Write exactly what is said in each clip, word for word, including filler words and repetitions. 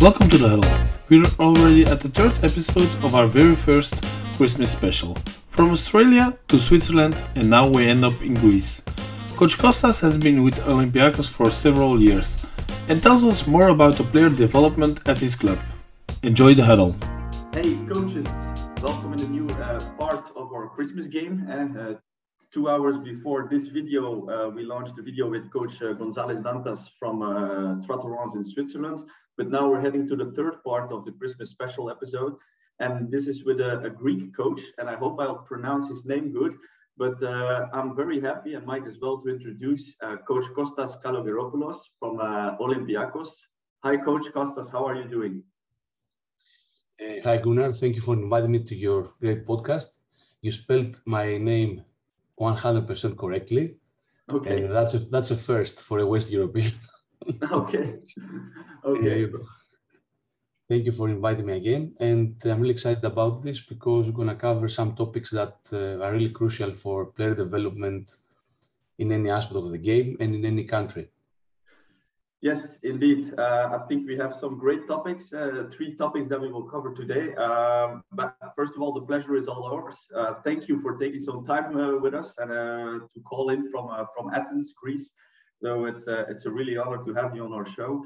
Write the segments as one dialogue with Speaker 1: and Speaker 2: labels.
Speaker 1: Welcome to The Huddle. We're already at the third episode of our very first Christmas special. From Australia to Switzerland, and now we end up in Greece. Coach Kostas has been with Olympiacos for several years and tells us more about the player development at his club. Enjoy The Huddle.
Speaker 2: Hey coaches, welcome in the new uh, part of our Christmas game. And uh, two hours before this video, uh, we launched the video with Coach uh, González Dantas from uh, Trois-Torrents in Switzerland. But now we're heading to the third part of the Christmas special episode. And this is with a, a Greek coach, and I hope I'll pronounce his name good. But uh, I'm very happy, and Mike as well, to introduce uh, Coach Kostas Kalogeropoulos from uh, Olympiacos. Hi, Coach Kostas, how are you doing?
Speaker 3: Uh, hi, Gunnar. Thank you for inviting me to your great podcast. You spelled my name one hundred percent correctly.
Speaker 2: Okay.
Speaker 3: And that's a, that's a first for a West European.
Speaker 2: Okay. Okay.
Speaker 3: Uh, thank you for inviting me again. And I'm really excited about this because we're going to cover some topics that uh, are really crucial for player development in any aspect of the game and in any country.
Speaker 2: Yes, indeed. Uh, I think we have some great topics, uh, three topics that we will cover today. Um, but first of all, the pleasure is all ours. Uh, thank you for taking some time uh, with us and uh, to call in from uh, from Athens, Greece. So it's a, it's a really honor to have you on our show.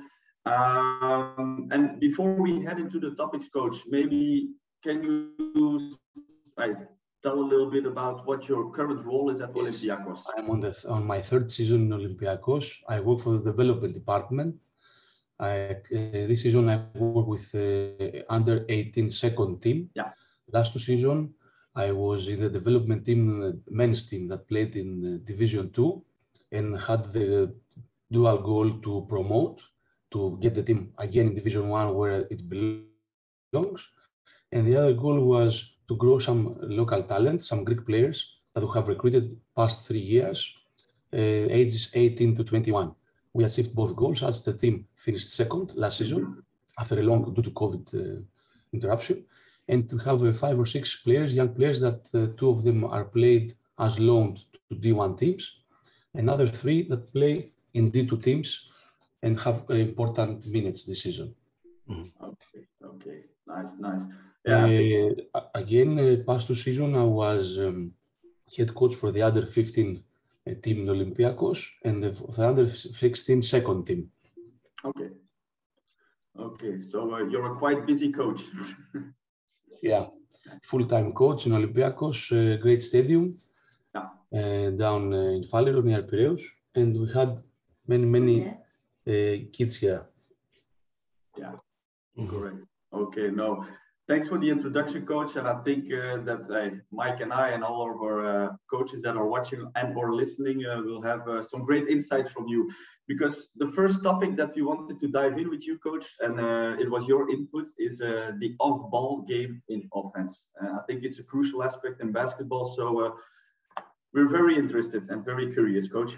Speaker 2: Um, and before we head into the topics, Coach, maybe can you I, tell a little bit about what your current role is at
Speaker 3: Yes.
Speaker 2: Olympiacos?
Speaker 3: I'm on, the, on my third season in Olympiacos. I work for the development department. I, uh, this season I work with uh, under eighteen second team.
Speaker 2: Yeah.
Speaker 3: Last two seasons I was in the development team, uh, men's team that played in uh, Division Two, and had the dual goal to promote, to get the team again in Division One where it belongs. And the other goal was to grow some local talent, some Greek players that we have recruited past three years, uh, ages eighteen to twenty-one. We achieved both goals as the team finished second last season after a long, due to COVID uh, interruption. And to have uh, five or six players, young players, that uh, two of them are played as loaned to D one teams, another three that play in D two teams and have uh, important minutes this season.
Speaker 2: Okay, okay, nice, nice. Yeah.
Speaker 3: Uh, again, uh, past two seasons, I was um, head coach for the under fifteen uh, team in Olympiacos and the, the under sixteen second team.
Speaker 2: Okay. Okay, so uh, you're a quite busy coach.
Speaker 3: Yeah, full-time coach in Olympiacos, uh, great stadium,
Speaker 2: Yeah.
Speaker 3: uh, down uh, in Faleros near Piraeus, and we had many, many uh, kids here.
Speaker 2: Yeah, correct. Okay, no, thanks for the introduction, Coach. And I think uh, that uh, Mike and I and all of our uh, coaches that are watching and or listening uh, will have uh, some great insights from you. Because the first topic that we wanted to dive in with you, Coach, and uh, it was your input, is uh, the off-ball game in offense. Uh, I think it's a crucial aspect in basketball. So uh, we're very interested and very curious, Coach.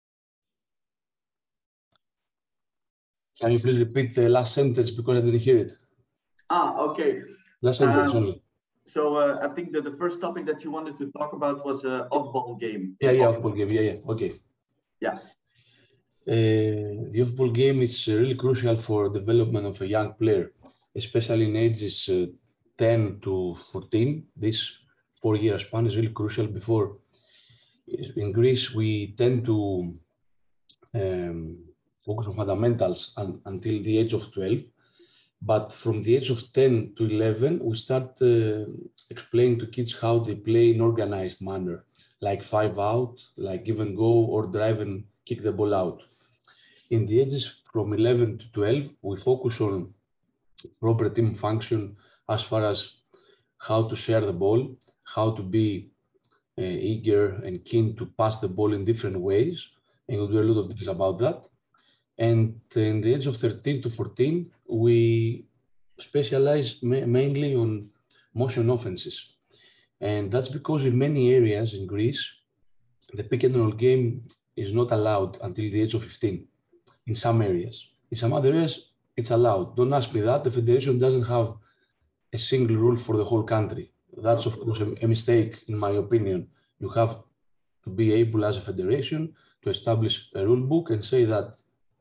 Speaker 3: Can you please repeat the last sentence because I didn't hear it?
Speaker 2: Ah, okay.
Speaker 3: Last sentence
Speaker 2: Um,
Speaker 3: only.
Speaker 2: So uh, I think that the first topic that you wanted to talk about was uh, off-ball game.
Speaker 3: Yeah, yeah, off-ball game. Yeah, yeah. Okay.
Speaker 2: Yeah.
Speaker 3: Uh, the off-ball game is uh, really crucial for development of a young player, especially in ages uh, ten to fourteen. This four-year span is really crucial. Before, in Greece, we tend to um, focus on fundamentals un until the age of twelve. But from the age of ten to eleven, we start uh, explaining to kids how they play in organized manner, like five out, like give and go, or drive and kick the ball out. In the ages from eleven to twelve, we focus on proper team function as far as how to share the ball, how to be uh, eager and keen to pass the ball in different ways. And we'll do a lot of things about that. And in the age of thirteen to fourteen, we specialize ma mainly on motion offenses. And that's because in many areas in Greece, the pick and roll game is not allowed until the age of fifteen. In some areas. In some other areas, it's allowed. Don't ask me that. The federation doesn't have a single rule for the whole country. That's, of course, a, a mistake, in my opinion. You have to be able, as a federation, to establish a rule book and say that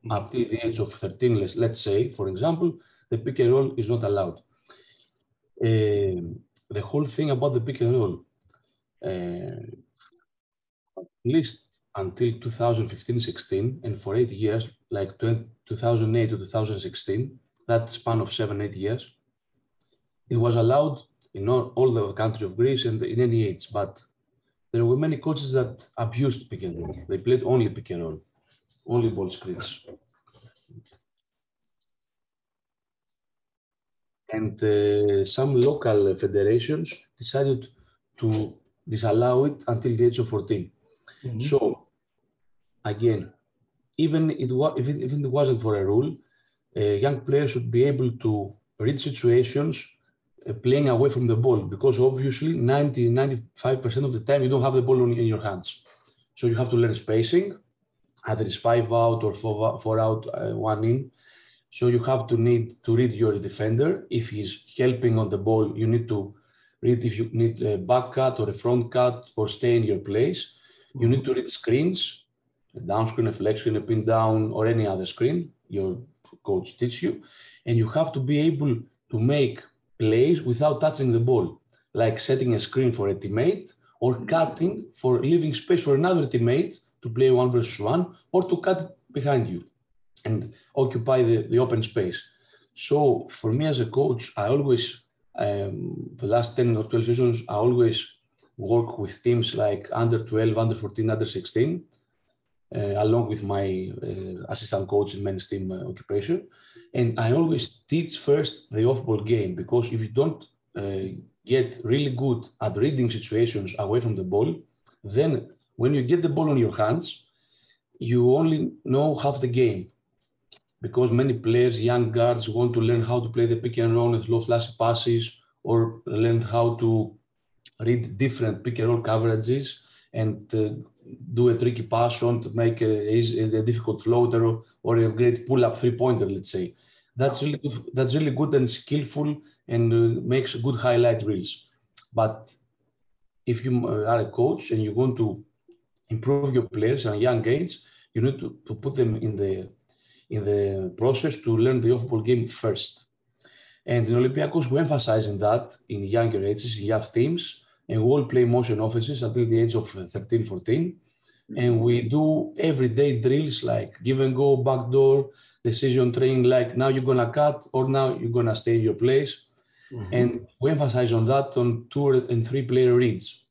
Speaker 3: up till the age of thirteen, let's, let's say, for example, the pick and roll is not allowed. Uh, the whole thing about the pick and roll, uh, at least until two thousand fifteen sixteen, and for eight years, like two thousand eight to two thousand sixteen, that span of seven, eight years, it was allowed in all, all the country of Greece and in any age, but there were many coaches that abused pick and roll. They played only pick and roll, only ball screens. And uh, some local federations decided to disallow it until the age of fourteen. Mm-hmm. So again, even it wa- if, it, if it wasn't for a rule, uh, young players should be able to read situations uh, playing away from the ball, because obviously ninety, ninety-five percent of the time you don't have the ball in, in your hands. So you have to learn spacing, either it's five out or four, four out, uh, one in. So you have to need to read your defender. If he's helping on the ball, you need to read if you need a back cut or a front cut or stay in your place. You need to read screens, a down screen, a flex screen, a pin down, or any other screen your coach teaches you. And you have to be able to make plays without touching the ball, like setting a screen for a teammate or cutting for leaving space for another teammate to play one versus one, or to cut behind you and occupy the, the open space. So for me as a coach, I always, um, the last ten or twelve seasons, I always work with teams like under twelve, under fourteen, under sixteen, uh, along with my uh, assistant coach in men's team uh, occupation. And I always teach first the off-ball game, because if you don't uh, get really good at reading situations away from the ball, then when you get the ball on your hands, you only know half the game. Because many players, young guards, want to learn how to play the pick and roll with low flashy passes, or learn how to read different pick and roll coverages and uh, do a tricky pass on to make a, a difficult floater, or, or a great pull-up three-pointer, let's say. That's really good, that's really good and skillful, and uh, makes good highlight reels. But if you are a coach and you want to improve your players at a young age, you need to, to put them in the in the process to learn the off-ball game first. And in Olympiacos, we emphasize in that in younger ages, in young teams, and we all play motion offenses until the age of thirteen, fourteen. And we do everyday drills like give and go, backdoor, decision training, like now you're gonna cut, or now you're gonna stay in your place. Mm-hmm. And we emphasize on that on two and three player reads.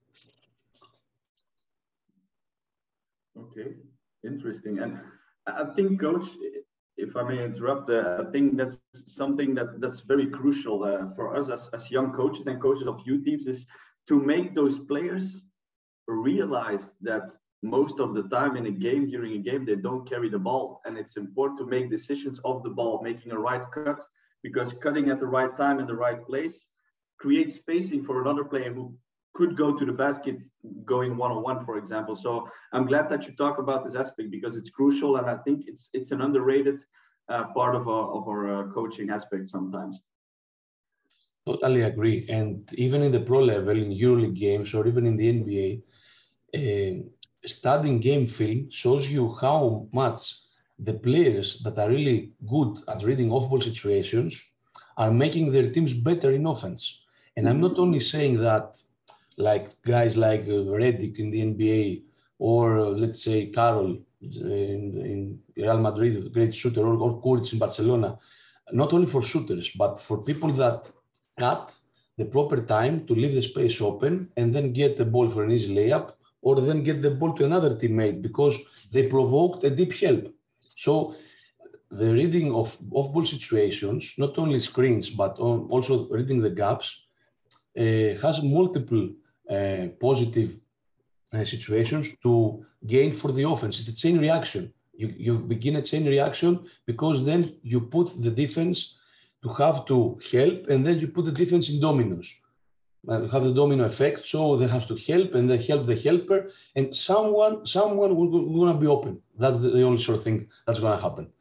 Speaker 2: Okay, interesting. And I think, Coach, if I may interrupt, uh, I think that's something that that's very crucial uh, for us as, as young coaches and coaches of youth teams, is to make those players realize that most of the time in a game, during a game, they don't carry the ball. And it's important to make decisions off the ball, making a right cut, because cutting at the right time in the right place creates spacing for another player who could go to the basket going one-on-one, for example. So I'm glad that you talk about this aspect, because it's crucial, and I think it's it's an underrated uh, part of our, of our uh, coaching aspect sometimes.
Speaker 3: Totally agree. And even in the pro level, in EuroLeague games, or even in the N B A, uh, studying game film shows you how much the players that are really good at reading off-ball situations are making their teams better in offense. And I'm not only saying that like guys like uh, Redick in the N B A, or uh, let's say Carroll in, in Real Madrid, a great shooter, or, or Kuric in Barcelona, not only for shooters, but for people that cut the proper time to leave the space open and then get the ball for an easy layup, or then get the ball to another teammate because they provoked a deep help. So the reading of off-ball situations, not only screens, but also reading the gaps, uh, has multiple uh, positive uh, situations to gain for the offense. It's a chain reaction. You, you begin a chain reaction, because then you put the defense to have to help, and then you put the defense in dominoes. Uh, have the domino effect, so they have to help, and they help the helper, and someone someone will, will, will be open. That's the, the only sort of thing that's going to happen.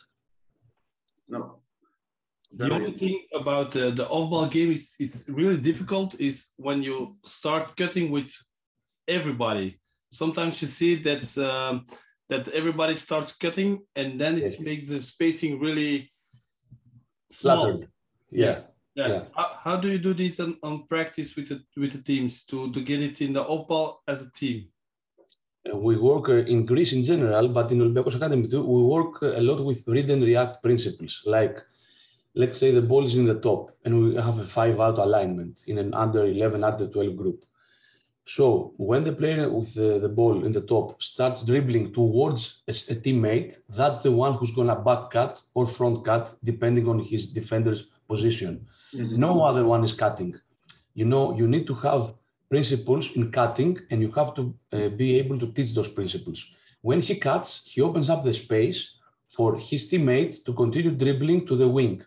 Speaker 2: No.
Speaker 1: The only thing about uh, the off-ball game is it's really difficult is when you start cutting with everybody. Sometimes you see that um, that everybody starts cutting, and then it
Speaker 3: Yes.
Speaker 1: makes the spacing really small.
Speaker 3: Flattered. Yeah.
Speaker 1: Yeah.
Speaker 3: Yeah.
Speaker 1: How, how do you do this on, on practice with the with the teams to, to get it in the off ball as a team?
Speaker 3: Uh, We work uh, in Greece in general, but in Olympiacos Academy too, we work uh, a lot with read and react principles. Like, let's say the ball is in the top and we have a five out alignment in an under eleven, under twelve group. So when the player with the, the ball in the top starts dribbling towards a, a teammate, that's the one who's gonna back cut or front cut, depending on his defender's position.
Speaker 2: Mhm.
Speaker 3: No other one is cutting. You know, you need to have principles in cutting, and you have to uh, be able to teach those principles. When he cuts, he opens up the space for his teammate to continue dribbling to the wing.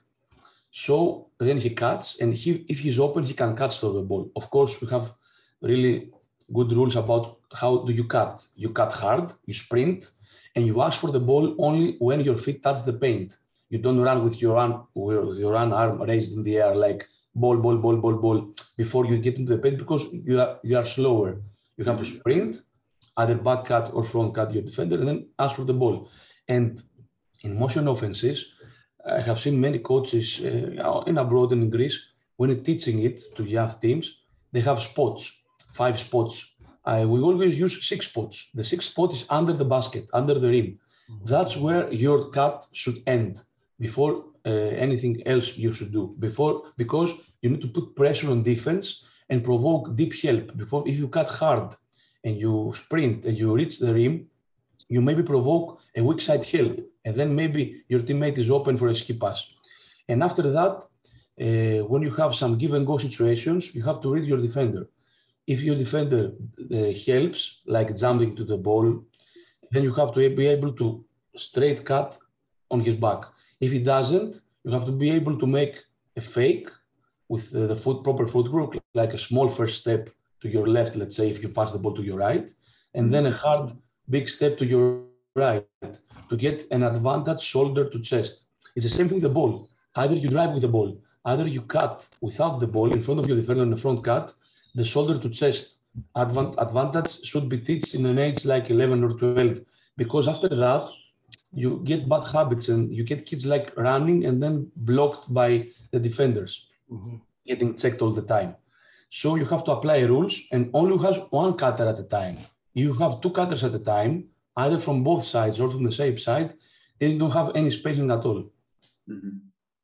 Speaker 3: So then he cuts, and he, if he's open, he can catch through the ball. Of course, we have really good rules about how do you cut. You cut hard, you sprint, and you ask for the ball only when your feet touch the paint. You don't run with your arm, with your arm raised in the air like ball, ball, ball, ball, ball before you get into the paint, because you are you are slower. You have to sprint, either back cut or front cut your defender, and then ask for the ball. And in motion offenses, I have seen many coaches uh, in abroad and in Greece, when you're teaching it to young teams, they have spots, five spots. Uh, we always use six spots. The sixth spot is under the basket, under the rim. That's where your cut should end before uh, anything else you should do. Before, because you need to put pressure on defense and provoke deep help. Before, if you cut hard and you sprint and you reach the rim, you maybe provoke a weak side help, and then maybe your teammate is open for a skip pass. And after that, uh, when you have some give and go situations, you have to read your defender. If your defender uh, helps, like jumping to the ball, then you have to be able to straight cut on his back. If he doesn't, you have to be able to make a fake with uh, the foot, proper foot group, like a small first step to your left, let's say, if you pass the ball to your right, and then a hard big step to your right to get an advantage shoulder to chest. It's the same thing with the ball. Either you drive with the ball, either you cut without the ball in front of your defender on the front cut, the shoulder to chest advan advantage should be taught in an age like eleven or twelve, because after that, you get bad habits and you get kids like running and then blocked by the defenders, mm-hmm. getting checked all the time. So you have to apply rules, and only has one cutter at a time. You have two cutters at a time, either from both sides or from the same side, then you don't have any spacing at all.
Speaker 2: Mm-hmm.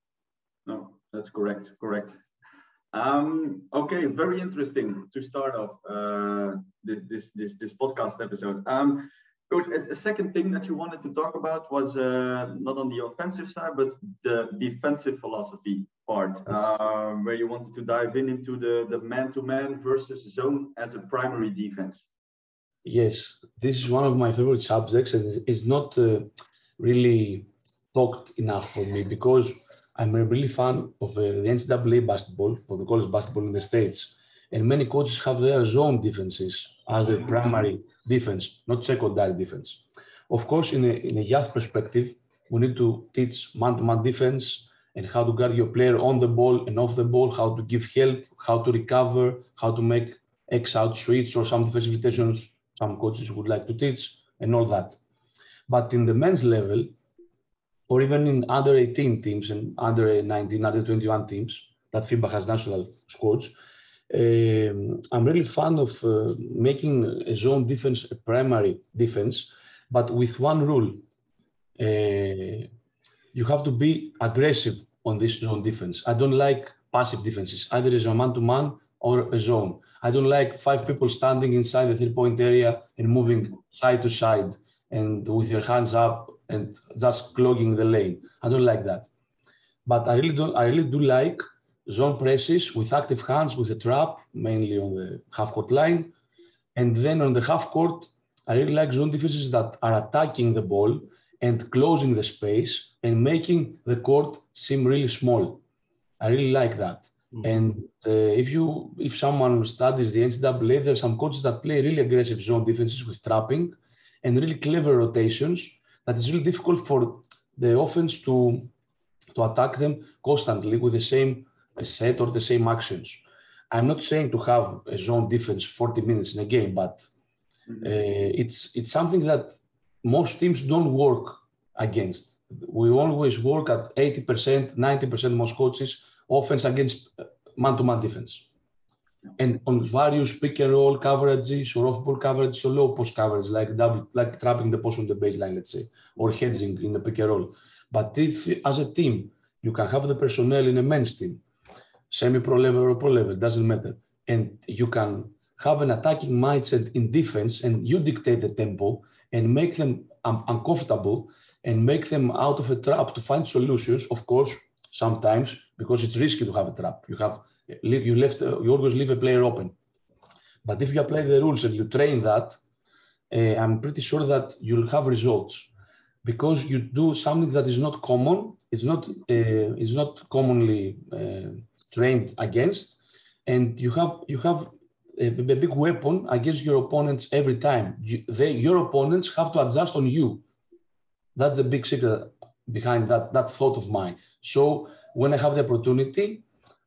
Speaker 2: No, that's correct, correct. Um, okay, very interesting to start off uh, this, this, this, this podcast episode. Um, Coach, a, a second thing that you wanted to talk about was uh, not on the offensive side, but the defensive philosophy part, uh, where you wanted to dive in into the, the man-to-man versus zone as a primary defense.
Speaker 3: Yes, this is one of my favorite subjects, and it's not uh, really talked enough for me, because I'm a really fan of uh, the N C double A basketball, or the college basketball in the States. And many coaches have their zone defenses as a primary defense, not secondary defense. Of course, in a, in a youth perspective, we need to teach man-to-man defense and how to guard your player on the ball and off the ball, how to give help, how to recover, how to make X-out switch or some defensive rotations some coaches would like to teach, and all that. But in the men's level, or even in under eighteen teams and under nineteen, under twenty-one teams that FIBA has national squads, um, I'm really fan of uh, making a zone defense a primary defense, but with one rule. Uh, you have to be aggressive on this zone defense. I don't like passive defenses, either as a man-to-man or a zone. I don't like five people standing inside the three-point area and moving side to side and with your hands up and just clogging the lane. I don't like that. But I really don't. I really do like zone presses with active hands, with a trap, mainly on the half-court line. And then on the half-court, I really like zone defenses that are attacking the ball and closing the space and making the court seem really small. I really like that. Mm-hmm. And uh, if you, if someone studies the N C double A, there are some coaches that play really aggressive zone defenses with trapping and really clever rotations that is really difficult for the offense to, to attack them constantly with the same set or the same actions. I'm not saying to have a zone defense forty minutes in a game, but uh, it's, it's something that most teams don't work against. We always work at eighty percent, ninety percent, most coaches, offense against man-to-man defense. And on various pick and roll coverages or off-ball coverage or low post coverage, like double, like trapping the post on the baseline, let's say, or hedging in the pick and roll. But if, as a team, you can have the personnel in a men's team, semi-pro level or pro level, doesn't matter, and you can have an attacking mindset in defense, and you dictate the tempo and make them um, uncomfortable and make them out of a trap to find solutions. Of course, sometimes because it's risky to have a trap, you have. You left. You always leave a player open. But if you apply the rules and you train that, uh, I'm pretty sure that you'll have results, because you do something that is not common. It's not. Uh, it's not commonly uh, trained against, and you have you have a, a big weapon against your opponents every time. You, they, your opponents have to adjust on you. That's the big secret behind that that thought of mine. So when I have the opportunity,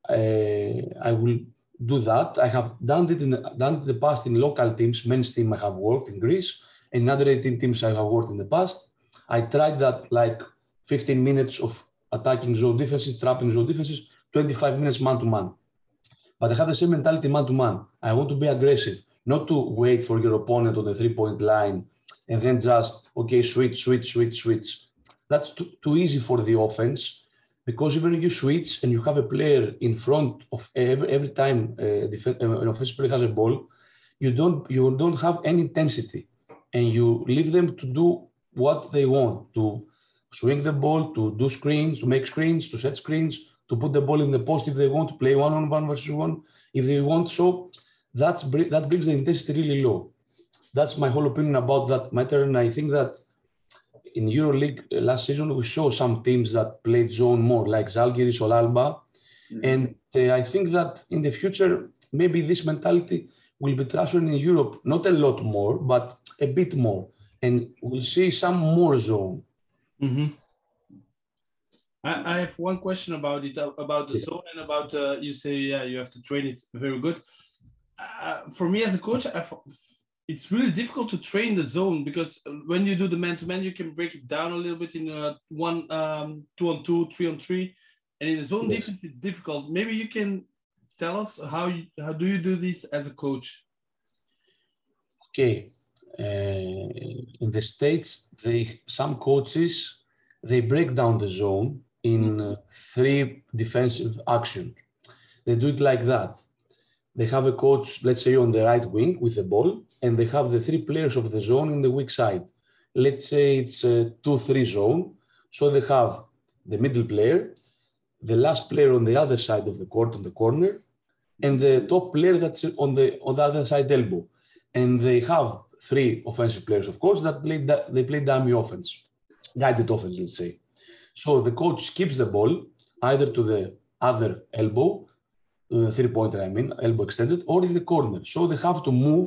Speaker 3: Uh, I will do that. I have done it in done it in the past in local teams, men's team I have worked in Greece, and in other eighteen teams I have worked in the past. I tried that like fifteen minutes of attacking zone defenses, trapping zone defenses, twenty-five minutes man-to-man. But I have the same mentality man-to-man. I want to be aggressive, not to wait for your opponent on the three-point line and then just, okay, switch, switch, switch, switch. That's too, too easy for the offense. Because even if you switch and you have a player in front of every, every time uh, defense, uh, an offensive player has a ball, you don't you don't have any intensity, and you leave them to do what they want, to swing the ball, to do screens, to make screens, to set screens, to put the ball in the post if they want to play one on one versus one if they want. So that's that brings the intensity really low. That's my whole opinion about that matter, and I think that in EuroLeague last season, we saw some teams that played zone more, like Zalgiris or Alba. Mm-hmm. And uh, I think that in the future, maybe this mentality will be transferred in Europe, not a lot more, but a bit more. And we'll see some more zone.
Speaker 1: Mm-hmm. I, I have one question about it, about the yeah. zone, and about, uh, you say, yeah, you have to train it very good. Uh, for me as a coach, I've, it's really difficult to train the zone, because when you do the man-to-man, you can break it down a little bit in uh, one, um, two on two, three on three, and in the zone yes. defense, it's difficult. Maybe you can tell us how you, how do you do this as a coach?
Speaker 3: Okay, uh, in the States, they some coaches they break down the zone in uh, three defensive actions. They do it like that. They have a coach, let's say, on the right wing with the ball, and they have the three players of the zone in the weak side. Let's say it's a two three zone. So they have the middle player, the last player on the other side of the court, on the corner, and the top player that's on the on the other side elbow. And they have three offensive players, of course, that play that they play dummy offense, guided offense, let's say. So the coach skips the ball either to the other elbow, uh, three-pointer, I mean, elbow extended, or in the corner. So they have to move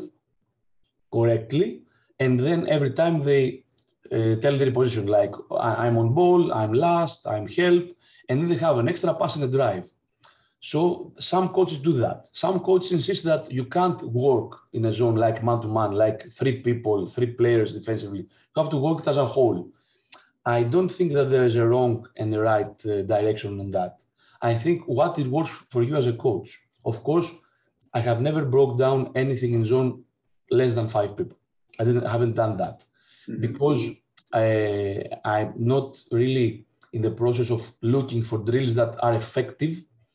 Speaker 3: correctly, and then every time they uh, tell their position, like I'm on ball, I'm last, I'm help, and then they have an extra pass and a drive. So some coaches do that. Some coaches insist that you can't work in a zone like man-to-man, like three people, three players defensively. You have to work it as a whole. I don't think that there is a wrong and a right uh, direction on that. I think what it works for you as a coach. Of course, I have never broke down anything in zone less than five people. I didn't haven't done that mm-hmm. because I, I'm not really in the process of looking for drills that are effective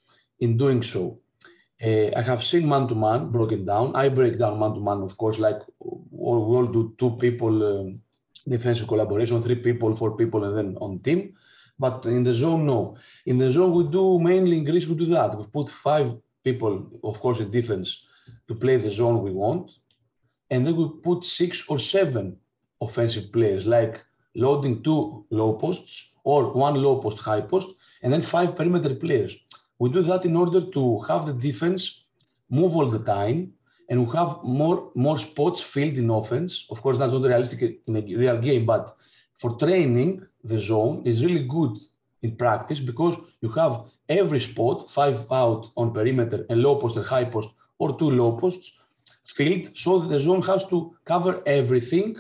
Speaker 3: in doing so. Uh, I have seen man-to-man broken down. I break down man-to-man, of course, like we all do two people um, defensive collaboration, three people, four people, and then on team. But in the zone, no. In the zone, we do mainly in Greece, we do that. We put five people, of course, in defense to play the zone we want. And then we put six or seven offensive players, like loading two low posts or one low post, high post, and then five perimeter players. We do that in order to have the defense move all the time, and we have more, more spots filled in offense. Of course, that's not realistic in a real game, but for training, the zone is really good in practice, because you have every spot, five out on perimeter and low post and high post, or two low posts, filled, so the zone has to cover everything.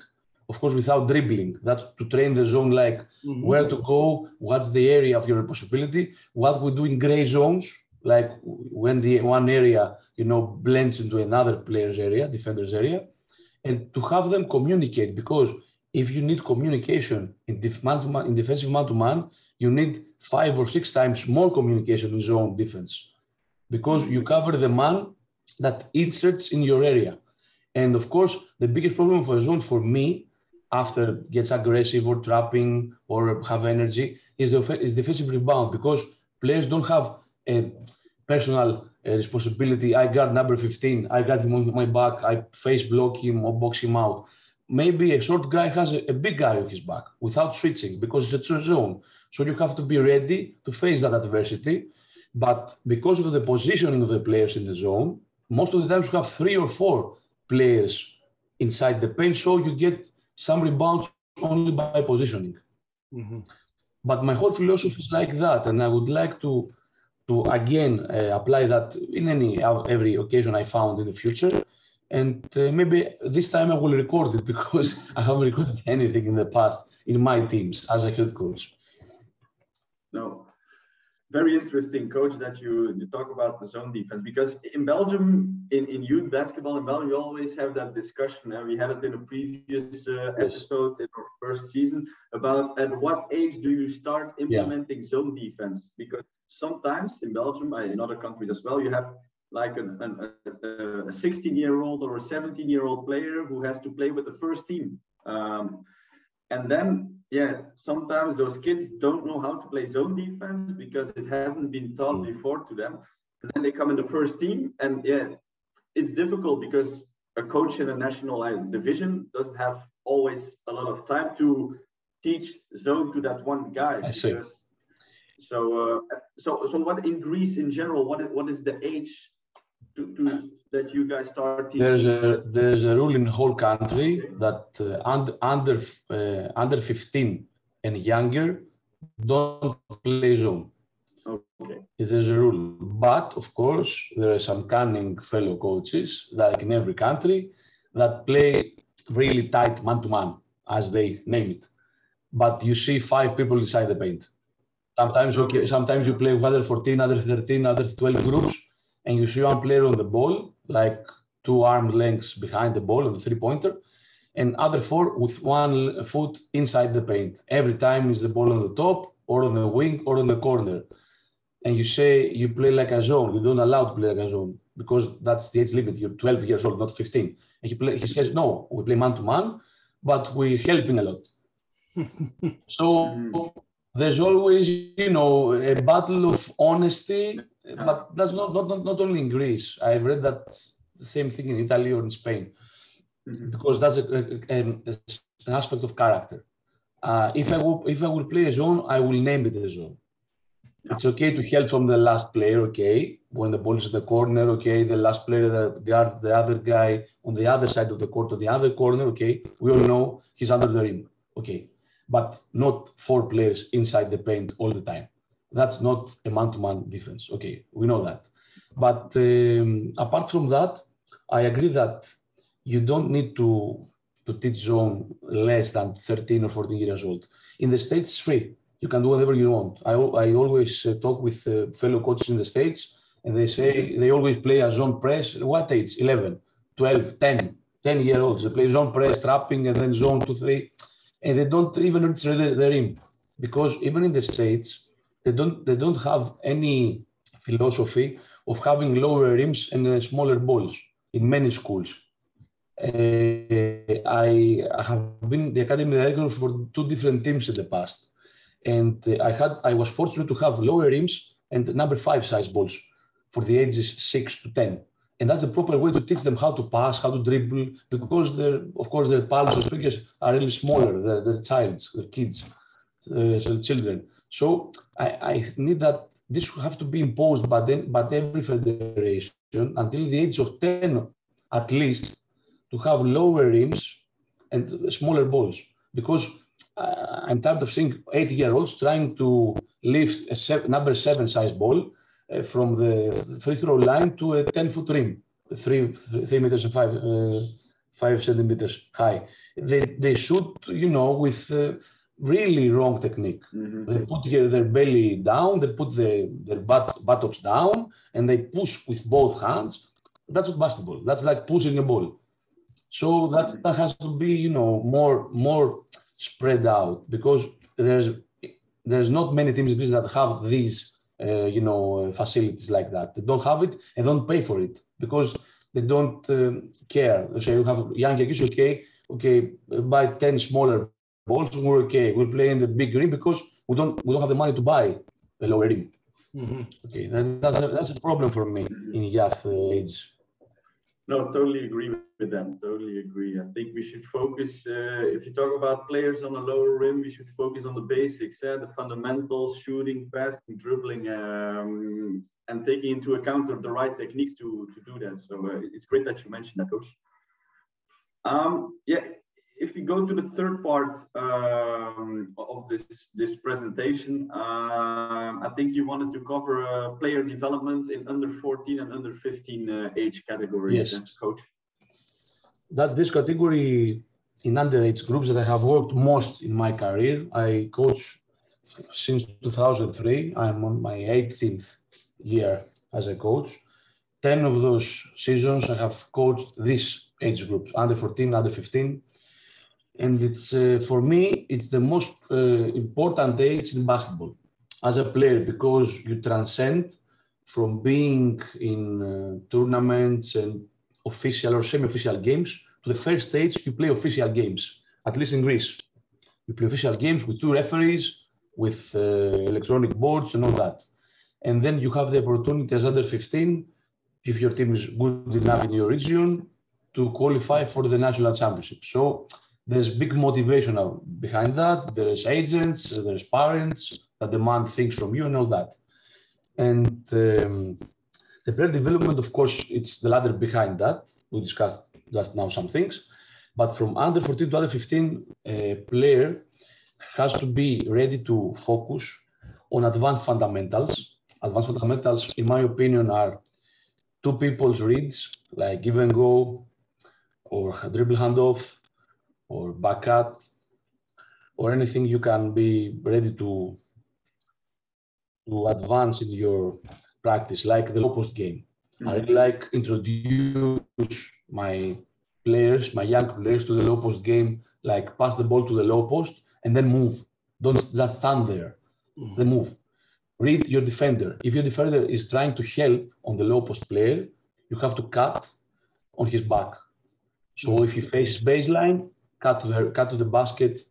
Speaker 3: of course, without dribbling. That's to train the zone, like mm-hmm. where to go, what's the area of your responsibility, what we do in gray zones, like when the one area, you know, blends into another player's area, defender's area, and to have them communicate, because if you need communication in, def- man-to-man, in defensive man-to-man, you need five or six times more communication in zone defense, because you cover the man that inserts in your area. And of course, the biggest problem for a zone for me, after gets aggressive or trapping or have energy, is, the, is defensive rebound, because players don't have a personal uh, responsibility. I guard number fifteen, I got him on my back, I face block him or box him out. Maybe a short guy has a, a big guy on his back without switching, because it's a zone. So you have to be ready to face that adversity. But because of the positioning of the players in the zone, most of the times you have three or four players inside the paint, so you get some rebounds only by positioning. Mm-hmm. But my whole philosophy is like that, and I would like to, to again uh, apply that in any every occasion I found in the future. And uh, maybe this time I will record it, because I haven't recorded anything in the past in my teams as a head coach.
Speaker 2: No. Very interesting, coach, that you, you talk about the zone defense, because in Belgium, in, in youth basketball in Belgium, we always have that discussion, and we had it in a previous uh, episode in our first season, about at what age do you start implementing yeah. zone defense? Because sometimes in Belgium, in other countries as well, you have like an, an, a, a sixteen-year-old or a seventeen-year-old player who has to play with the first team. Um, and then yeah, sometimes those kids don't know how to play zone defense because it hasn't been taught before to them. And then they come in the first team, and yeah, it's difficult because a coach in a national division doesn't have always a lot of time to teach zone to that one guy.
Speaker 3: I see.
Speaker 2: Because, so, uh, so, so what in Greece in general, what is, what is the age to, to that you guys start teaching?
Speaker 3: There's a there's a rule in the whole country okay. that uh, under under uh, under fifteen and younger don't play zone.
Speaker 2: Okay.
Speaker 3: There's a rule, but of course there are some cunning fellow coaches, like in every country, that play really tight man to man, as they name it. But you see five people inside the paint. Sometimes okay, sometimes you play with other fourteen, other thirteen, other twelve groups, and you see one player on the ball, like two arm lengths behind the ball on the three-pointer, and other four with one foot inside the paint. Every time is the ball on the top, or on the wing, or on the corner. And you say you play like a zone. You don't allow to play like a zone, because that's the age limit. You're twelve years old, not fifteen. And he, play, he says, no, we play man-to-man, but we're helping a lot. So there's always, you know, a battle of honesty, but that's not, not, not, not only in Greece. I've read that the same thing in Italy or in Spain, mm-hmm. because that's a, a, a, an aspect of character. Uh, if I will, if I will play a zone, I will name it a zone. Yeah. It's okay to help from the last player, okay? When the ball is in the corner, okay? The last player that guards the other guy on the other side of the court, or the other corner, okay? We all know he's under the rim, okay? But not four players inside the paint all the time. That's not a man-to-man defense, okay? We know that. But um, apart from that, I agree that you don't need to, to teach zone less than thirteen or fourteen years old. In the States, it's free. You can do whatever you want. I, I always uh, talk with uh, fellow coaches in the States, and they say they always play a zone press. What age? eleven, twelve, ten, ten year olds. They play zone press, trapping, and then zone two, three. And they don't even reach the, the rim, because even in the States, they don't, they don't have any philosophy of having lower rims and uh, smaller balls in many schools. Uh, I, I have been the academy director for two different teams in the past. And uh, I had, I was fortunate to have lower rims and number five size balls for the ages six to ten. And that's the proper way to teach them how to pass, how to dribble, because they're, of course, their palms and fingers are really smaller. They're, they're childs, they're kids, uh, so children. So I, I need that this will have to be imposed by, them, by every federation until the age of ten, at least, to have lower rims and smaller balls. Because uh, I'm tired of seeing eight-year-olds trying to lift a seven, number seven size ball uh, from the free throw line to a ten-foot rim, three, three meters and five, uh, five centimeters high. They, they shoot, you know, with uh, really wrong technique. Mm-hmm. They put their belly down, they put the, their butt, buttocks down, and they push with both hands. That's not basketball. That's like pushing a ball. So that, that has to be, you know, more, more spread out, because there's, there's not many teams in Greece that have these, uh, you know, facilities like that. They don't have it and don't pay for it because they don't um, care. So you have young kids, okay, okay, buy ten smaller balls, we're okay. We'll play in the big ring because we don't we don't have the money to buy a lower ring. Mm-hmm. Okay, that, that's a, that's a problem for me in youth uh, age.
Speaker 2: No, totally agree with them. Totally agree. I think we should focus. Uh, if you talk about players on a lower rim, we should focus on the basics, uh, the fundamentals: shooting, passing, dribbling. Um, and taking into account the right techniques to, to do that. So uh, it's great that you mentioned that, Coach. Um, yeah, if we go to the third part um, of this, this presentation, um, I think you wanted to cover uh, player development in under fourteen and under fifteen uh, age categories, yes. uh, Coach.
Speaker 3: That's this category in underage groups that I have worked most in my career. I coach since two thousand three. I'm on my eighteenth year as a coach. ten of those seasons I have coached these age groups, under fourteen, under fifteen. And it's, uh, for me, it's the most uh, important age in basketball as a player, because you transcend from being in uh, tournaments and official or semi-official games to the first stage you play official games, at least in Greece. You play official games with two referees, with uh, electronic boards and all that. And then you have the opportunity as under fifteen, if your team is good enough in your region, to qualify for the national championship. So there's big motivation behind that. There's agents, there's parents that demand things from you and all that. And um, the player development, of course, it's the ladder behind that. We discussed just now some things. But from under fourteen to under fifteen, a player has to be ready to focus on advanced fundamentals. Advanced fundamentals, in my opinion, are two people's reads, like give and go, or dribble handoff, or back cut, or anything you can be ready to, to advance in your practice, like the low post game. Mm-hmm. I really like introduce my players, my young players, to the low post game, like pass the ball to the low post and then move. Don't just stand there, mm-hmm. then move. Read your defender. If your defender is trying to help on the low post player, you have to cut on his back. So if he faces baseline, cut to the, cut to the basket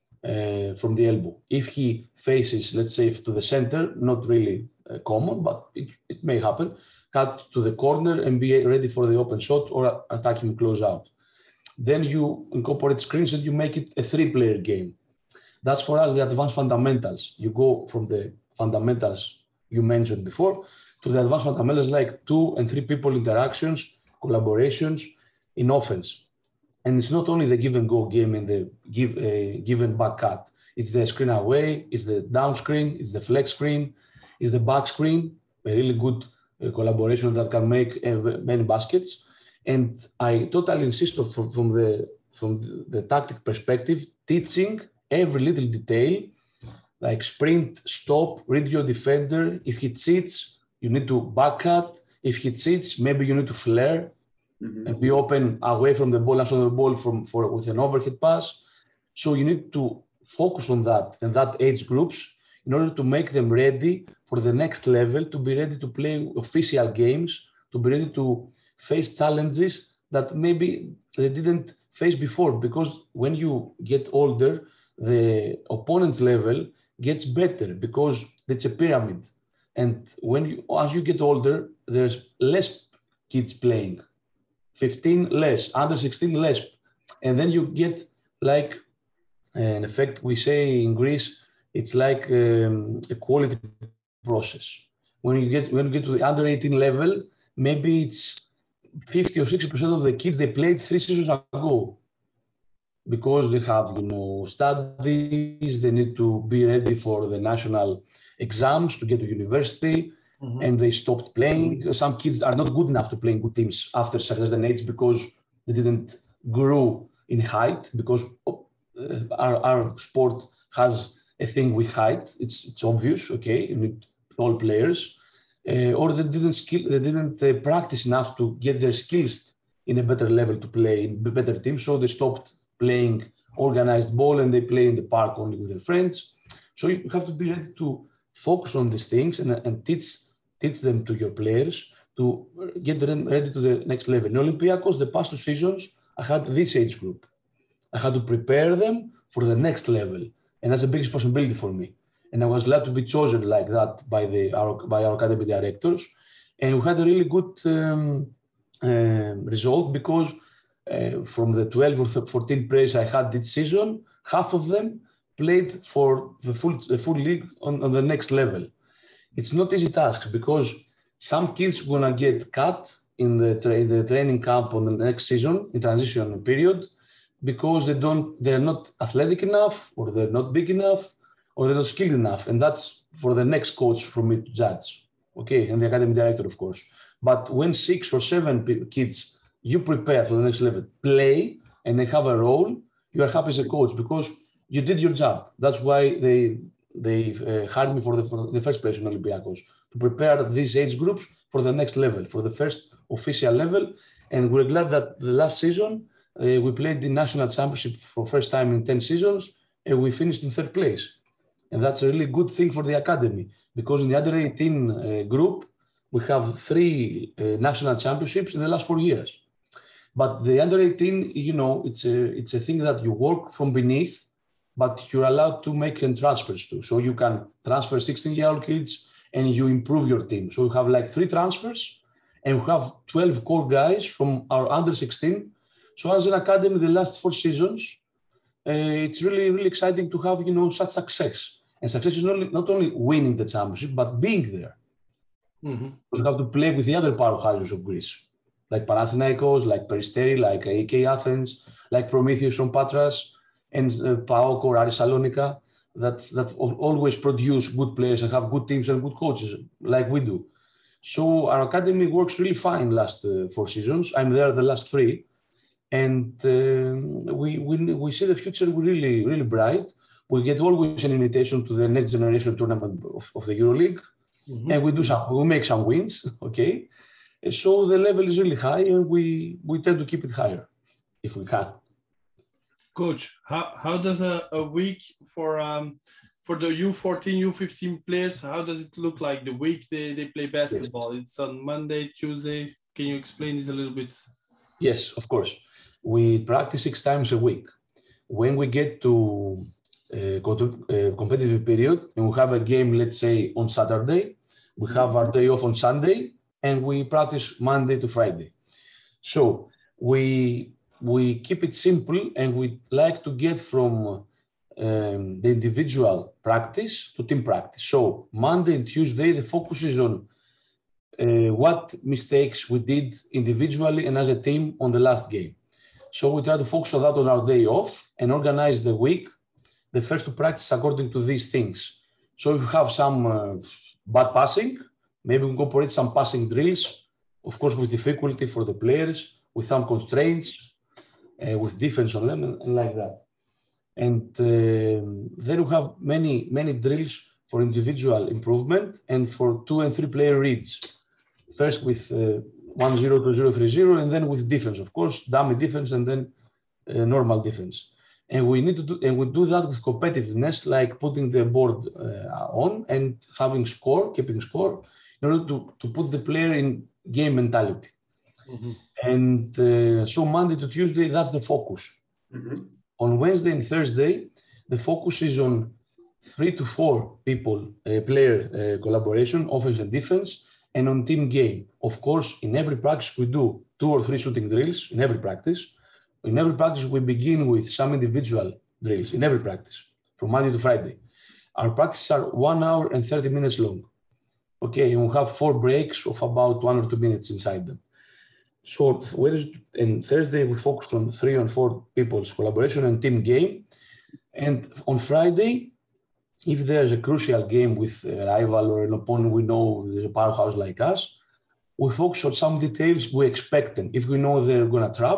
Speaker 3: uh, from the elbow. If he faces, let's say, to the center, not really uh, common, but it, it may happen, cut to the corner and be ready for the open shot or attack him close out. Then you incorporate screens and you make it a three-player game. That's for us the advanced fundamentals. You go from the fundamentals you mentioned before to the advanced fundamentals like two and three people interactions, collaborations in offense. And it's not only the give and go game and the give, uh, give and back cut. It's the screen away, it's the down screen, it's the flex screen, it's the back screen, a really good uh, collaboration that can make uh, many baskets. And I totally insist on, from, from, the, from the, the tactic perspective, teaching every little detail, like sprint, stop, read your defender. If he cheats, you need to back cut. If he cheats, maybe you need to flare mm-hmm. and be open away from the ball, after the ball from, for, with an overhead pass. So you need to focus on that and that age groups in order to make them ready for the next level, to be ready to play official games, to be ready to face challenges that maybe they didn't face before. Because when you get older, the opponent's level gets better because it's a pyramid. And when you, as you get older, there's less kids playing. fifteen less, under sixteen less. And then you get like, in effect, we say in Greece, it's like um, a quality process. When you get when you get to the under eighteen level, maybe it's fifty or sixty percent of the kids they played three seasons ago. Because they have, you know, studies, they need to be ready for the national exams to get to university, mm-hmm. and they stopped playing. Some kids are not good enough to play in good teams after certain age because they didn't grew in height because uh, our, our sport has a thing with height. It's it's obvious, okay? You need tall players, uh, or they didn't skill, they didn't uh, practice enough to get their skills in a better level to play in better teams. So they stopped playing organized ball and they play in the park only with their friends. So you have to be ready to focus on these things and, and teach teach them to your players to get them ready to the next level. In Olympiacos, the past two seasons, I had this age group. I had to prepare them for the next level. And that's a big responsibility for me. And I was glad to be chosen like that by, the, our, by our academy directors. And we had a really good um, uh, result because uh, from the twelve or fourteen players I had this season, half of them played for the full, the full league on, on the next level. It's not easy task because some kids are gonna get cut in the, tra the training camp on the next season, in transition period, because they don't, they're not athletic enough, or they're not big enough, or they're not skilled enough. And that's for the next coach for me to judge. Okay, and the academy director, of course. But when six or seven kids you prepare for the next level, play, and they have a role, you are happy as a coach because you did your job. That's why they they uh, hired me for the, for the first place in Olympiacos, to prepare these age groups for the next level, for the first official level. And we're glad that the last season, uh, we played the national championship for first time in ten seasons, and we finished in third place. And that's a really good thing for the academy, because in the under eighteen uh, group, we have three uh, national championships in the last four years. But the under eighteen, you know, it's a, it's a thing that you work from beneath, but you're allowed to make transfers too. So you can transfer sixteen-year-old kids and you improve your team. So you have like three transfers and we have twelve core guys from our under sixteen. So as an academy, the last four seasons, uh, it's really, really exciting to have, you know, such success. And success is not only, not only winning the championship, but being there. Mm-hmm. You have to play with the other powerhouses of Greece, like Panathinaikos, like Peristeri, like A K Athens, like Prometheus from Patras, and uh, PAOK or Aris Salonika, that, that always produce good players and have good teams and good coaches, like we do. So our academy works really fine last uh, four seasons. I'm there the last three. And uh, we, we, we see the future really, really bright. We get always an invitation to the next generation tournament of, of the EuroLeague. Mm-hmm. And we do some, we make some wins, okay? So the level is really high and we, we tend to keep it higher if we can.
Speaker 1: Coach, how, how does a, a week for um for the U fourteen, U fifteen players, how does it look like the week they, they play basketball? Yes. It's on Monday, Tuesday. Can you explain this a little bit?
Speaker 3: Yes, of course. We practice six times a week. When we get to a competitive period and we have a game, let's say on Saturday, we have our day off on Sunday and we practice Monday to Friday. So we we keep it simple and we like to get from um, the individual practice to team practice. So Monday and Tuesday, the focus is on uh, what mistakes we did individually and as a team on the last game. So we try to focus on that on our day off and organize the week, the first to practice according to these things. So if you have some uh, bad passing, maybe we incorporate some passing drills, of course with difficulty for the players, with some constraints, uh, with defense on them and, and like that. And uh, then we have many, many drills for individual improvement and for two and three player reads. First with uh, one zero to zero three zero, and then with defense, of course, dummy defense, and then uh, normal defense. And we need to do, and we do that with competitiveness, like putting the board uh, on and having score, keeping score, in order to, to put the player in game mentality. Mm-hmm. And uh, so Monday to Tuesday, that's the focus. Mm-hmm. On Wednesday and Thursday, the focus is on three to four people, uh, player uh, collaboration, offense and defense, and on team game. Of course, in every practice, we do two or three shooting drills in every practice. In every practice, we begin with some individual drills in every practice, from Monday to Friday. Our practices are one hour and thirty minutes long. Okay, and we have four breaks of about one or two minutes inside them. So, and Thursday, we focus on three and four people's collaboration and team game. And on Friday, if there's a crucial game with a rival or an opponent we know there's a powerhouse like us, we focus on some details we expect them. If we know they're going to trap,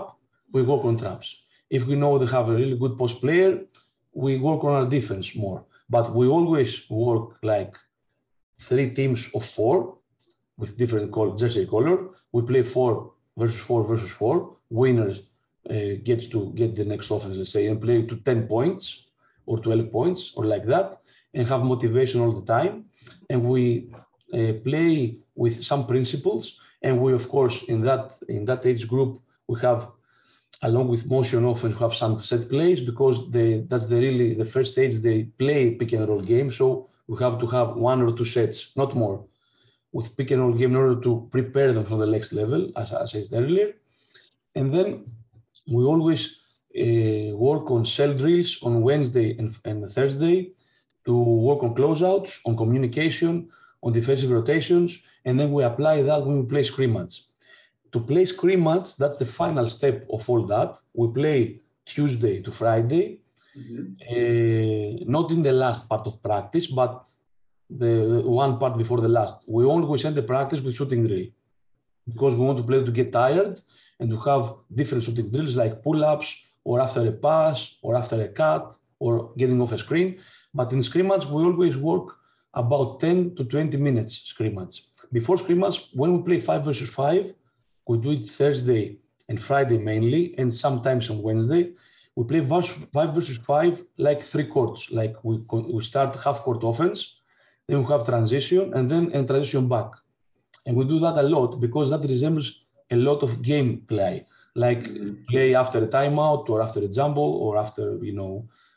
Speaker 3: we work on traps. If we know they have a really good post player, we work on our defense more. But we always work like three teams of four with different color, jersey color. We play four versus four versus four. Winners uh, gets to get the next offense, let's say, and play to ten points or twelve points or like that, and have motivation all the time. And we uh, play with some principles. And we, of course, in that in that age group, we have, along with motion offense, we have some set plays because they that's the really the first stage they play pick and roll game. So we have to have one or two sets, not more, with pick and roll game in order to prepare them for the next level, as, as I said earlier. And then we always uh, work on cell drills on Wednesday and, and Thursday to work on closeouts, on communication, on defensive rotations, and then we apply that when we play scrimmage. To play scrimmage, that's the final step of all that. We play Tuesday to Friday, mm-hmm. uh, not in the last part of practice, but the, the one part before the last. We always end the practice with shooting drill because we want to play to get tired and to have different shooting drills like pull-ups or after a pass or after a cut or getting off a screen. But in scrimmage, we always work about ten to twenty minutes scrimmage. Before scrimmage, when we play five versus five, we do it Thursday and Friday mainly, and sometimes on Wednesday. We play five versus five like three courts. Like we, we start half court offense, then we have transition, and then and transition back. And we do that a lot because that resembles a lot of game play, like play after a timeout or after a jumble or after, you know,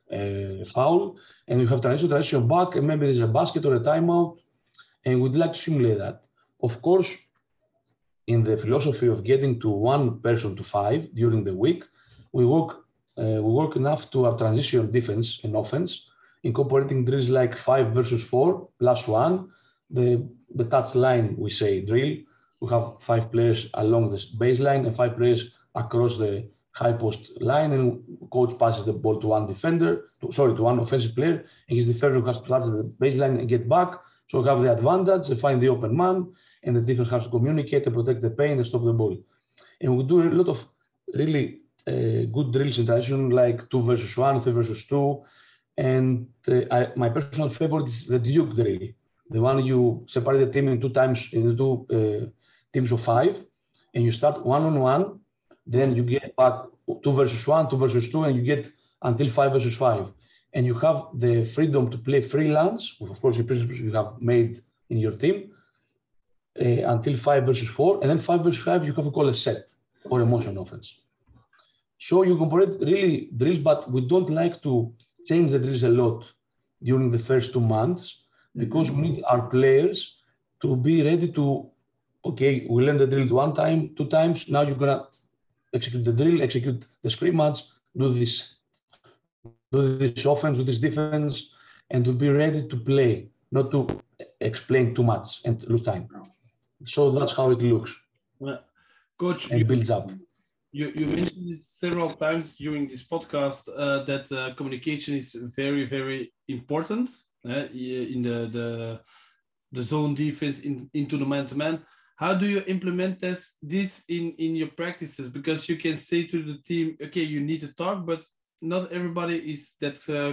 Speaker 3: a foul. And you have transition, transition back, and maybe there's a basket or a timeout. And we'd like to simulate that. Of course, in the philosophy of getting to one person to five during the week, we work uh, we work enough to our transition defense and offense, incorporating drills like five versus four plus one, the, the touch line, we say drill. We have five players along the baseline and five players across the high post line, and coach passes the ball to one defender, to, sorry, to one offensive player, and his defender has to touch the baseline and get back. So we have the advantage and find the open man, and the defense has to communicate and protect the paint and stop the ball. And we do a lot of really uh, good drills in transition, like two versus one, three versus two. And uh, I, my personal favorite is the Duke drill, the one you separate the team in two times, into two uh, teams of five, and you start one on one, then you get back two versus one, two versus two, and you get until five versus five. And you have the freedom to play freelance, with, of course, the principles you have made in your team, uh, until five versus four, and then five versus five, you have to call a set or a motion offense. So you incorporate really drills, but we don't like to change the drills a lot during the first two months because we need our players to be ready to, okay, we learn the drill one time, two times, now you're gonna execute the drill, execute the scrimmage, do this, do this offense, do this defense, and to be ready to play, not to explain too much and lose time. So that's how it looks.
Speaker 1: Well, Coach,
Speaker 3: and
Speaker 1: you,
Speaker 3: builds up.
Speaker 1: You, you mentioned it several times during this podcast uh, that uh, communication is very, very important uh, in the, the, the zone defense, in, into the man-to-man. How do you implement this, this in, in your practices? Because you can say to the team, okay, you need to talk, but not everybody is that uh,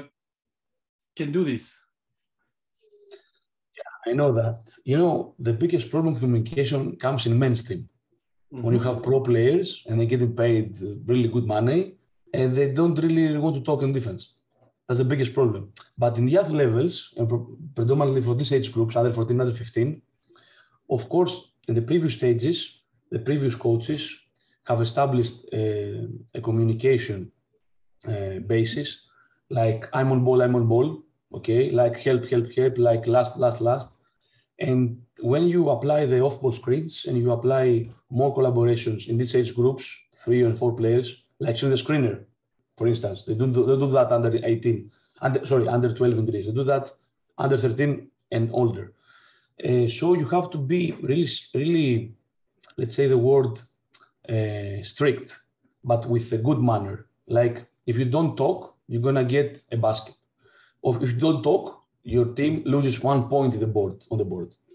Speaker 1: can do this.
Speaker 3: Yeah, I know that. You know, the biggest problem with communication comes in men's team. Mm-hmm. When you have pro players and they're getting paid really good money and they don't really want to talk in defense. That's the biggest problem. But in the other levels, and predominantly for these age groups, under fourteen, under fifteen, of course, in the previous stages, the previous coaches have established uh, a communication uh, basis, like I'm on ball, I'm on ball, okay, like help, help, help, like last, last, last. And when you apply the off-ball screens and you apply more collaborations in these age groups, three and four players, like in the screener, for instance, they do, they do that under eighteen, under, sorry, under twelve in Greece. They do that under thirteen and older. Uh, so you have to be really, really, let's say the word uh, strict, but with a good manner. Like if you don't talk, you're gonna get a basket. Or if you don't talk, your team loses one point in the board on the board.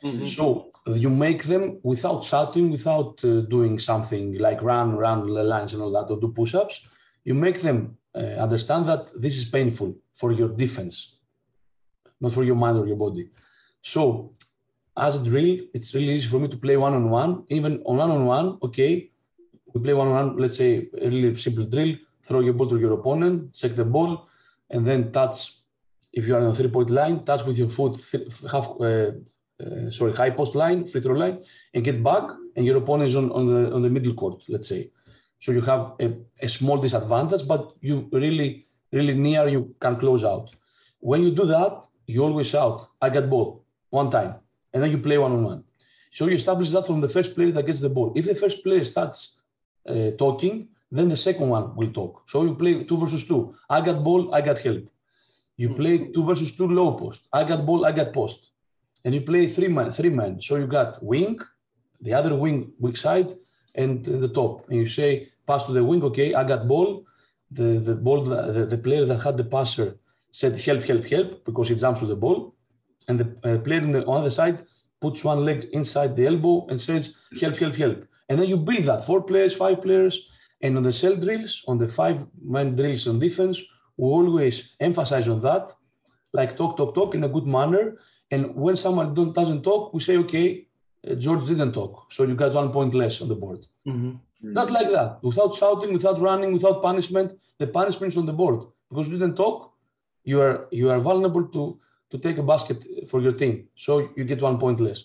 Speaker 1: Mm-hmm.
Speaker 3: So you make them without shouting, without uh, doing something like run, run the lines and all that, or do push-ups. You make them uh, understand that this is painful for your defense, not for your mind or your body. So as a drill, it's really easy for me to play one-on-one. Even on one-on-one, okay, we play one-on-one, let's say a really simple drill, throw your ball to your opponent, check the ball, and then touch, if you are on a three-point line, touch with your foot, half, uh, uh, sorry, high post line, free throw line, and get back, and your opponent is on, on, the, on the middle court, let's say. So you have a, a small disadvantage, but you really, really near, you can close out. When you do that, you always shout, I got ball, one time, and then you play one-on-one. So you establish that from the first player that gets the ball. If the first player starts uh, talking, then the second one will talk. So you play two versus two. I got ball, I got help. You play two versus two low post. I got ball, I got post. And you play three men, three men. So you got wing, the other wing, weak side, and the top. And you say, pass to the wing, okay, I got ball. The, the ball, the, the player that had the passer said, help, help, help, because he jumps to the ball. And the uh, player on the other side puts one leg inside the elbow and says, help, help, help. And then you build that, four players, five players. And on the cell drills, on the five-man drills on defense, we always emphasize on that, like talk, talk, talk in a good manner. And when someone don't, doesn't talk, we say, okay, uh, George didn't talk, so you got one point less on the board.
Speaker 1: Mm-hmm.
Speaker 3: Just like that, without shouting, without running, without punishment. The punishment is on the board. Because you didn't talk, you are, you are vulnerable to, to take a basket for your team. So you get one point less.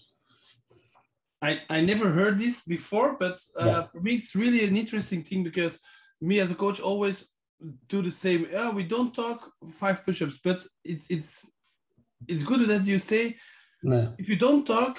Speaker 1: I, I never heard this before, but uh,
Speaker 3: yeah.
Speaker 1: for me, it's really an interesting thing because me as a coach always do the same. Oh, we don't talk five push-ups, but it's it's it's good that you say
Speaker 3: yeah.
Speaker 1: if you don't talk,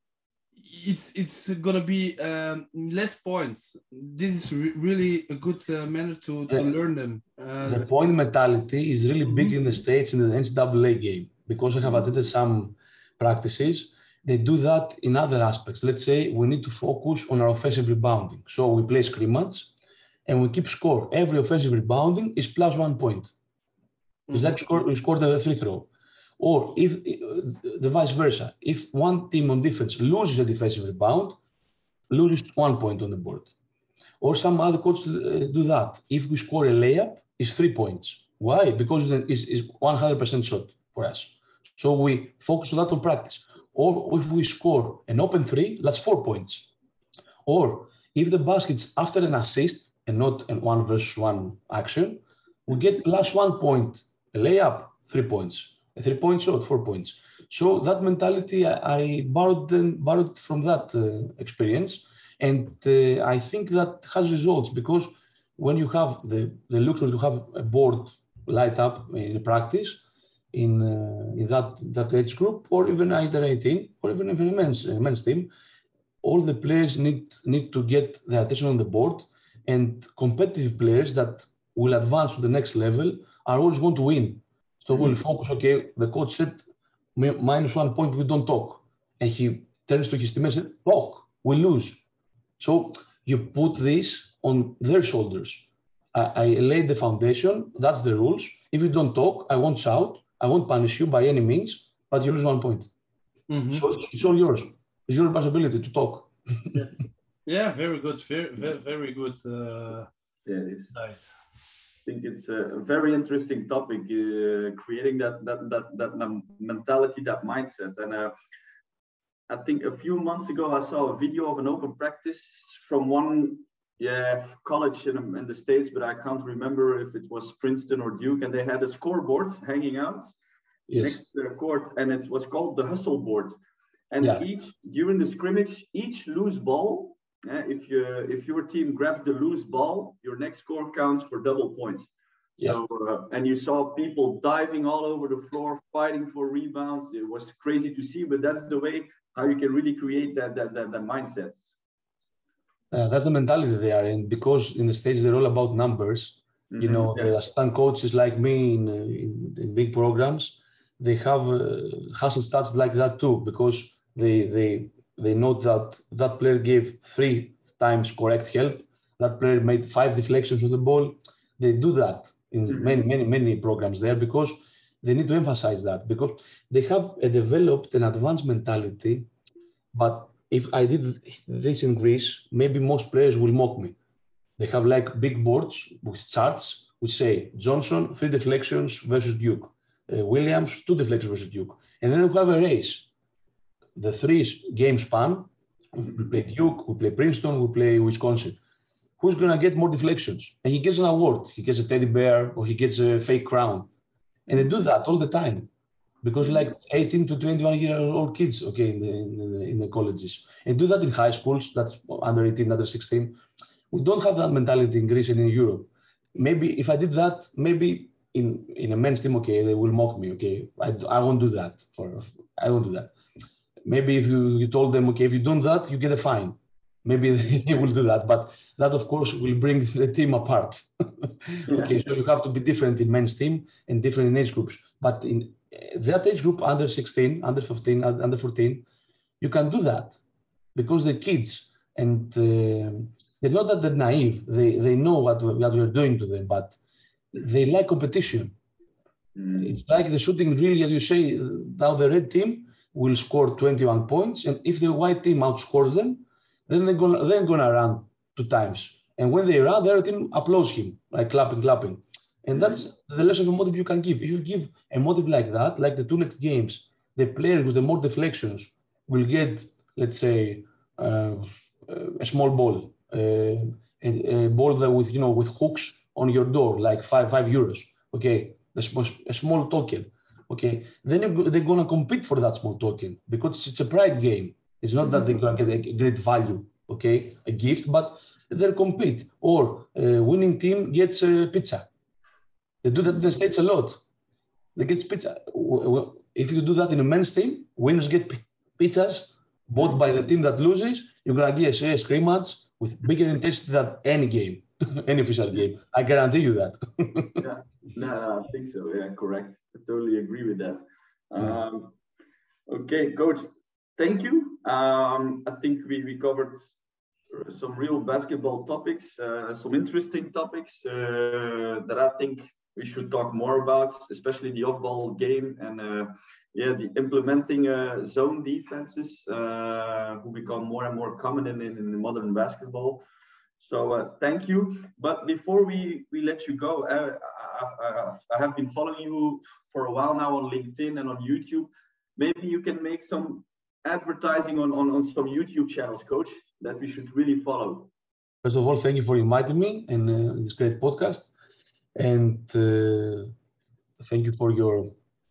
Speaker 1: it's it's gonna be um, less points. This is re really a good uh, manner to, to
Speaker 3: yeah.
Speaker 1: learn them. Uh,
Speaker 3: the point mentality is really big
Speaker 1: mm-hmm.
Speaker 3: in the States in the N C double A game, because I have attended some practices. They do that in other aspects. Let's say we need to focus on our offensive rebounding. So we play scrimmage and we keep score. Every offensive rebounding is plus one point. Mm-hmm. It's like score, we score the free throw. Or if the vice versa, if one team on defense loses a defensive rebound, loses one point on the board. Or some other coaches uh, do that. If we score a layup, it's three points. Why? Because it's, it's one hundred percent shot for us. So we focus on that on practice. Or if we score an open three, that's four points. Or if the basket's after an assist and not an one versus one action, we get plus one point. A layup, three points. A three-point shot, four points. So that mentality, I, I borrowed, them, borrowed from that uh, experience. And uh, I think that has results, because when you have the, the luxury to have a board light up in practice, in, uh, in that, that age group, or even either eighteen, or even if a men's, uh, men's team, all the players need, need to get their attention on the board, and competitive players that will advance to the next level are always going to win. So mm-hmm. we'll focus, okay, the coach said, minus one point, we don't talk. And he turns to his team and said, talk, we lose. So you put this on their shoulders. I, I laid the foundation, that's the rules. If you don't talk, I won't shout, I won't punish you by any means, but you lose one point. Mm-hmm. So it's, it's all yours. It's your responsibility to talk.
Speaker 1: Yes. Yeah, very good. Very, very, very good. Uh,
Speaker 2: yeah, it is.
Speaker 1: Nice.
Speaker 2: I think it's a very interesting topic, uh, creating that, that, that, that mentality, that mindset. And uh, I think a few months ago, I saw a video of an open practice from one yeah, college in, in the States, but I can't remember if it was Princeton or Duke, and they had a scoreboard hanging out yes. next to their court, and it was called the hustle board. And yeah. each during the scrimmage, each loose ball, uh, if you if your team grabs the loose ball, your next score counts for double points. Yeah. So uh, and you saw people diving all over the floor, fighting for rebounds. It was crazy to see, but that's the way how you can really create that that that, that mindset.
Speaker 3: Uh, that's the mentality they are in, because in the States they're all about numbers. Mm-hmm. You know, yeah. the assistant coaches like me in, in, in big programs, they have uh, hustle stats like that too, because they they they know that that player gave three times correct help, that player made five deflections on the ball. They do that in mm-hmm. many many many programs there, because they need to emphasize that, because they have a developed an advanced mentality But if I did this in Greece, maybe most players will mock me. They have like big boards with charts which say Johnson, three deflections versus Duke. Uh, Williams, two deflections versus Duke. And then we have a race. The three game span, we play Duke, we play Princeton, we play Wisconsin. Who's going to get more deflections? And he gets an award. He gets a teddy bear or he gets a fake crown. And they do that all the time. Because like eighteen to twenty-one year old kids, okay, in the, in the, in the colleges. And do that in high schools, that's under eighteen, under sixteen. We don't have that mentality in Greece and in Europe. Maybe if I did that, maybe in, in a men's team, okay, they will mock me, okay. I, I won't do that. For I won't do that. Maybe if you, you told them, okay, if you do that, you get a fine. Maybe they will do that. But that, of course, will bring the team apart. Okay, so you have to be different in men's team and different in age groups. But in that age group, under sixteen, under fifteen, under fourteen, you can do that because the kids, and uh, they're not that they're naive. They, they know what, what we're doing to them, but they like competition. Mm. It's like the shooting drill, as you say, now the red team will score twenty-one points, and if the white team outscores them, then they're gonna they're gonna run two times. And when they run, the other team applauds him, like clapping, clapping. And that's the lesson of motive you can give. If you give a motive like that, like the two next games, the players with the more deflections will get, let's say, uh, a small ball, uh, a, a ball that with you know with hooks on your door, like five five euros. Okay, a small, a small token. Okay, then they're gonna compete for that small token because it's a pride game. It's not that they're gonna get a great value, okay, a gift, but they'll compete. Or a winning team gets a pizza. They do that in the States a lot. They get pizza. If you do that in a men's team, winners get pizzas bought by the team that loses. You're gonna get a scrimmage with bigger intensity than any game, any official game. I guarantee you that.
Speaker 2: Yeah, no, I think so. Yeah, correct. I totally agree with that. Um, okay, Coach, thank you. Um, I think we, we covered some real basketball topics, uh, some interesting topics uh, that I think we should talk more about, especially the off-ball game and uh, yeah, the implementing uh, zone defenses uh, who become more and more common in, in, in modern basketball. So uh, thank you. But before we, we let you go, uh, I, I, I have been following you for a while now on LinkedIn and on YouTube. Maybe you can make some advertising on, on, on some YouTube channels, Coach, that we should really follow.
Speaker 3: First of all, thank you for inviting me in uh, this great podcast. And uh, thank you for your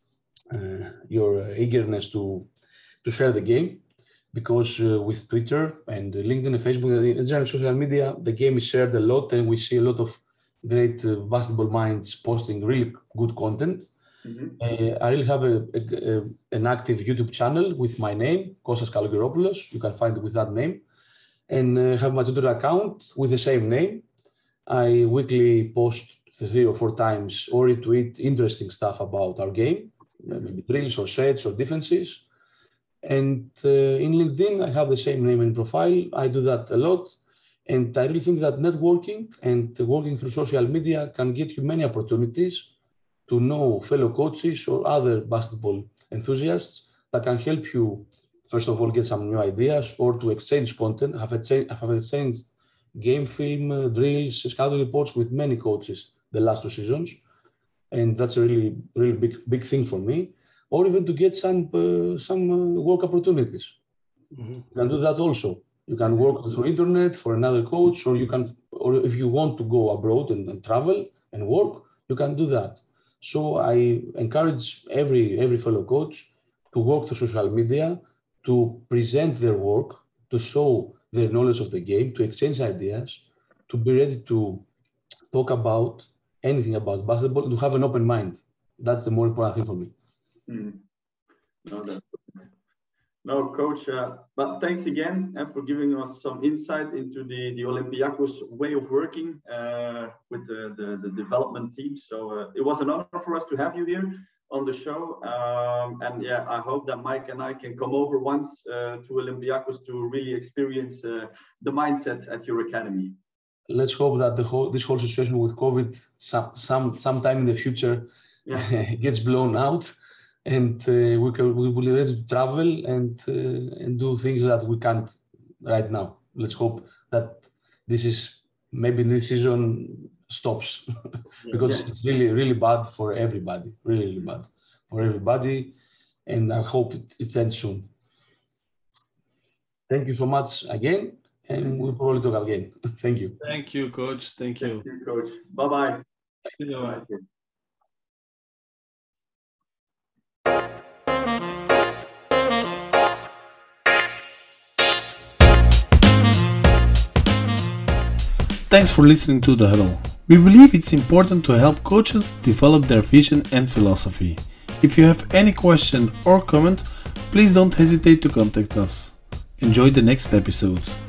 Speaker 3: uh, your eagerness to to share the game, because uh, with Twitter and LinkedIn and Facebook and general social media, the game is shared a lot, and we see a lot of great uh, basketball minds posting really good content. Mm-hmm. uh, I really have a, a, a, an active YouTube channel with my name, Kostas Kalogeropoulos. You can find it with that name, and uh, have my Twitter account with the same name. I weekly post three or four times or retweet interesting stuff about our game, maybe drills or sets or defenses. And uh, in LinkedIn, I have the same name and profile. I do that a lot. And I really think that networking and working through social media can get you many opportunities to know fellow coaches or other basketball enthusiasts that can help you, first of all, get some new ideas or to exchange content. I have exchanged game film, uh, drills, scouting reports with many coaches the last two seasons. And that's a really, really big, big thing for me. Or even to get some, uh, some uh, work opportunities. Mm-hmm. You can do that also. You can work through internet for another coach, or you can, or if you want to go abroad and, and travel and work, you can do that. So I encourage every, every fellow coach to work through social media, to present their work, to show their knowledge of the game, to exchange ideas, to be ready to talk about anything about basketball, to have an open mind. That's the more important thing for me.
Speaker 2: Mm. No, that's no, Coach, uh, but thanks again uh, for giving us some insight into the, the Olympiacos way of working uh, with the, the, the development team. So uh, it was an honor for us to have you here on the show. Um, and yeah, I hope that Mike and I can come over once uh, to Olympiacos to really experience uh, the mindset at your academy.
Speaker 3: Let's hope that the whole, this whole situation with COVID some, some sometime in the future yeah. gets blown out. and uh, we can we will be ready to travel and uh, and do things that we can't right now. Let's hope that this is maybe this season stops because
Speaker 2: Yes.
Speaker 3: it's really really bad for everybody, really really bad for everybody, and I hope it, it ends soon. Thank you so much again, and we'll probably talk again. Thank you.
Speaker 1: Thank you, Coach. Thank you.
Speaker 2: Thank you, Coach. Bye-bye.
Speaker 1: See you.
Speaker 2: Have a nice day.
Speaker 1: Thanks for listening to The Huddle. We believe it's important to help coaches develop their vision and philosophy. If you have any question or comment, please don't hesitate to contact us. Enjoy the next episode.